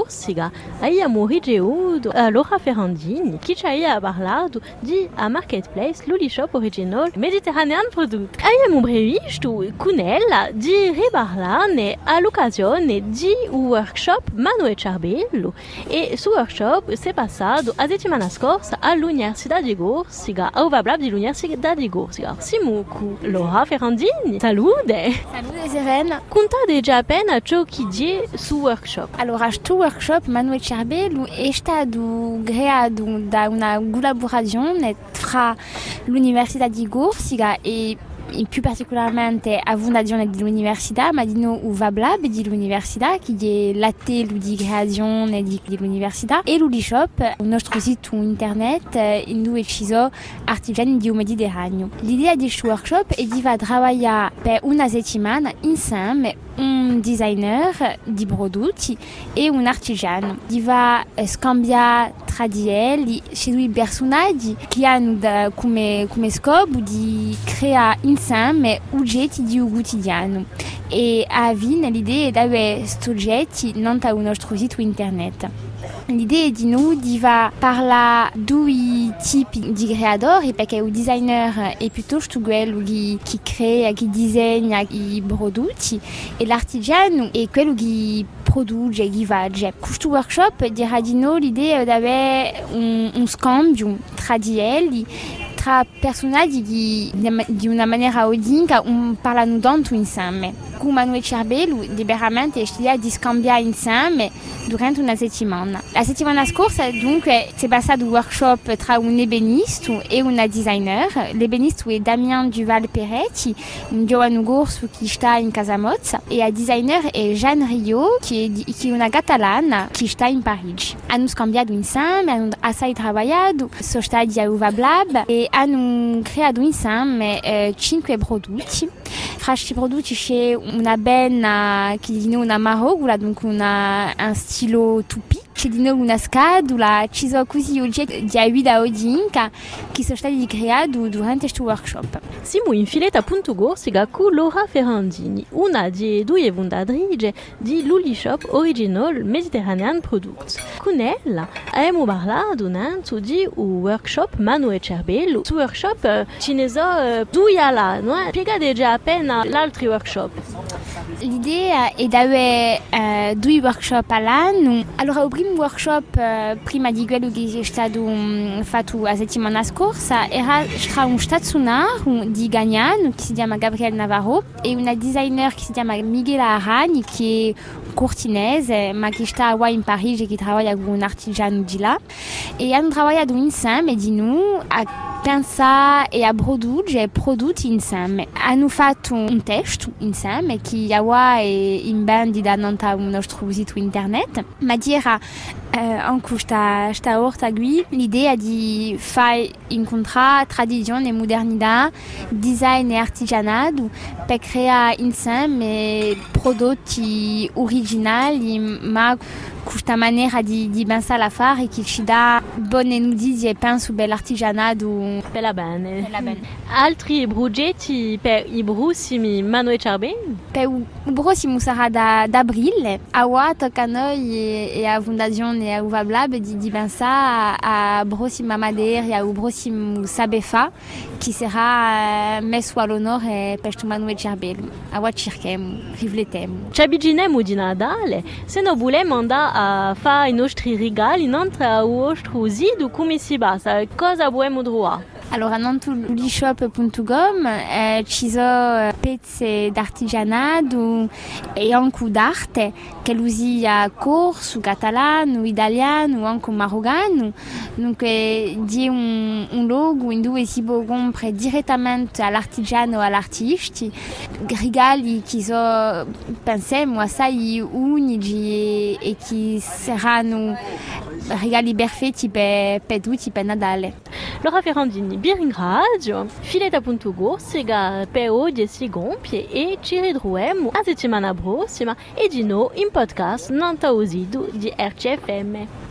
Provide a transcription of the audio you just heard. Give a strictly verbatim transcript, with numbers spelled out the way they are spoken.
Gorsiga, abbiamo ricevuto uh, Laura Ferrandini, che ci ha parlato di a Marketplace l'Ulishop Original Mediterranean Product. Abbiamo previsto con ella di riparlarne all'occasione di un workshop Mano e Cervello, e su workshop si è passato la settimana scorsa all'Università di Gorsiga, a Uvablab dell'Università di Gorsiga. Siamo con Laura Ferrandini. Salute! Salute Serena! Contate già appena ciò che dice su workshop. Allora, questo workshop Mano e Cervello è stato creato da una collaborazione tra l'Università di Gorsiga e e più particolarmente a fondazione dell'università, ma di noi Uvablab dell'università, che è l'atelier di creazione dell'università, e l'Ulishop, il nostro sito internet in cui ci sono artigiani di Mediterraneo. L'idea di questo workshop è di lavorare per una settimana insieme un designer di prodotti e un artigiano. Di va scambiare tra di essi i personaggi che hanno da, come, come scopo di creare insieme oggetti di un quotidiano, e a fine l'idea è di avere questi oggetti non sul nostro sito internet. L'idea è di noi di parlare di due tipi di creatori, perché il designer è piuttosto quello che, che crea, che disegna i prodotti, e l'artigiano è quello che produce, che vende. Questo workshop dirà di noi l'idea è di avere un, un scambio tra di essi, tra personaggi che di una maniera unica un, parlano tanto insieme. Con Mano e Cervello liberamente è l'idea di scambiare insieme durante una settimana. La settimana scorsa dunque si è passato un workshop tra un ebenista e una designer. L'ebenista è Damien Duval Peretti, un giovane corso che sta in Casamozza, e la designer è Jeanne Rio, che è, che è una catalana che sta in Parigi. Hanno scambiato insieme, hanno assai lavorato, sono stati a Uvablab e hanno creato insieme eh, cinque prodotti. Fra questi prodotti c'è una penna che di noi una marogula, dunque una, un stilo tupi. C'è di noi una scatola, ci sono così oggetti di guida odinca che sono stati creati durante questo workshop. Siamo in Filetta punto Gorsiga con Laura Ferrandini, una delle due fondatrici di l'Ulishop Original Mediterranean Products. Con ella abbiamo parlato innanzi di un workshop Mano e Cervello. Su workshop ce ne sono due là, no? Spiegate già appena l'altro workshop. L'idea è di avere uh, due workshop all'anno. Allora, il primo workshop, uh, prima di quello che è stato um, fatto la settimana scorsa, era tra un stazionario di Gagnano che si chiama Gabriele Navarro e una designer che si chiama Michela Aragni, che è cortinese ma che sta qua in Parigi e che lavora con un artigiano di là, e hanno lavorato insieme di noi a pensare e a produrre prodotti insieme. Hanno fatto un test insieme che ora è in vendita non sul nostro sito internet, ma dirà eh, anche questa, questa volta qui l'idea di far incontrare tradizione e modernità, design e artigianato per creare insieme prodotti originali, ma questa maniera di, di pensare a fare che ci dà buone notizie, penso, per l'artigianato. Bella bene. Bella bene. Altri progetti per i prossimi Mano e Cervello? Per il prossimo sarà da, da aprile. Ora tocca a noi e, e a Fondazione Uvablab di, di pensare a prossima Madeira, al prossimo Sabefa, che sarà messo all'onore per questo Mano e Cervello. Ora cerchiamo, riflettiamo. Ci avviciniamo di Natale, se non vogliamo andare a fare i nostri regali non tra il nostro sito, come si passa? Cosa vogliamo trovare? Allora, non su ulishop punto com eh, ci sono pezzi d'artigianato e anche d'arte che usia corso, catalano, italiano, anche marocano. Dunque, di un, un logo in cui si può comprare direttamente all'artigiano o all'artista regali che sono, pensiamo, assai unici e che saranno regali perfetti per, per tutti per Natale. Laura Ferrandini, vi ringrazio. Filetta punto Gorsiga per oggi si compie e ci ritroviamo la settimana prossima e di nuovo in podcast non sito di R C F M.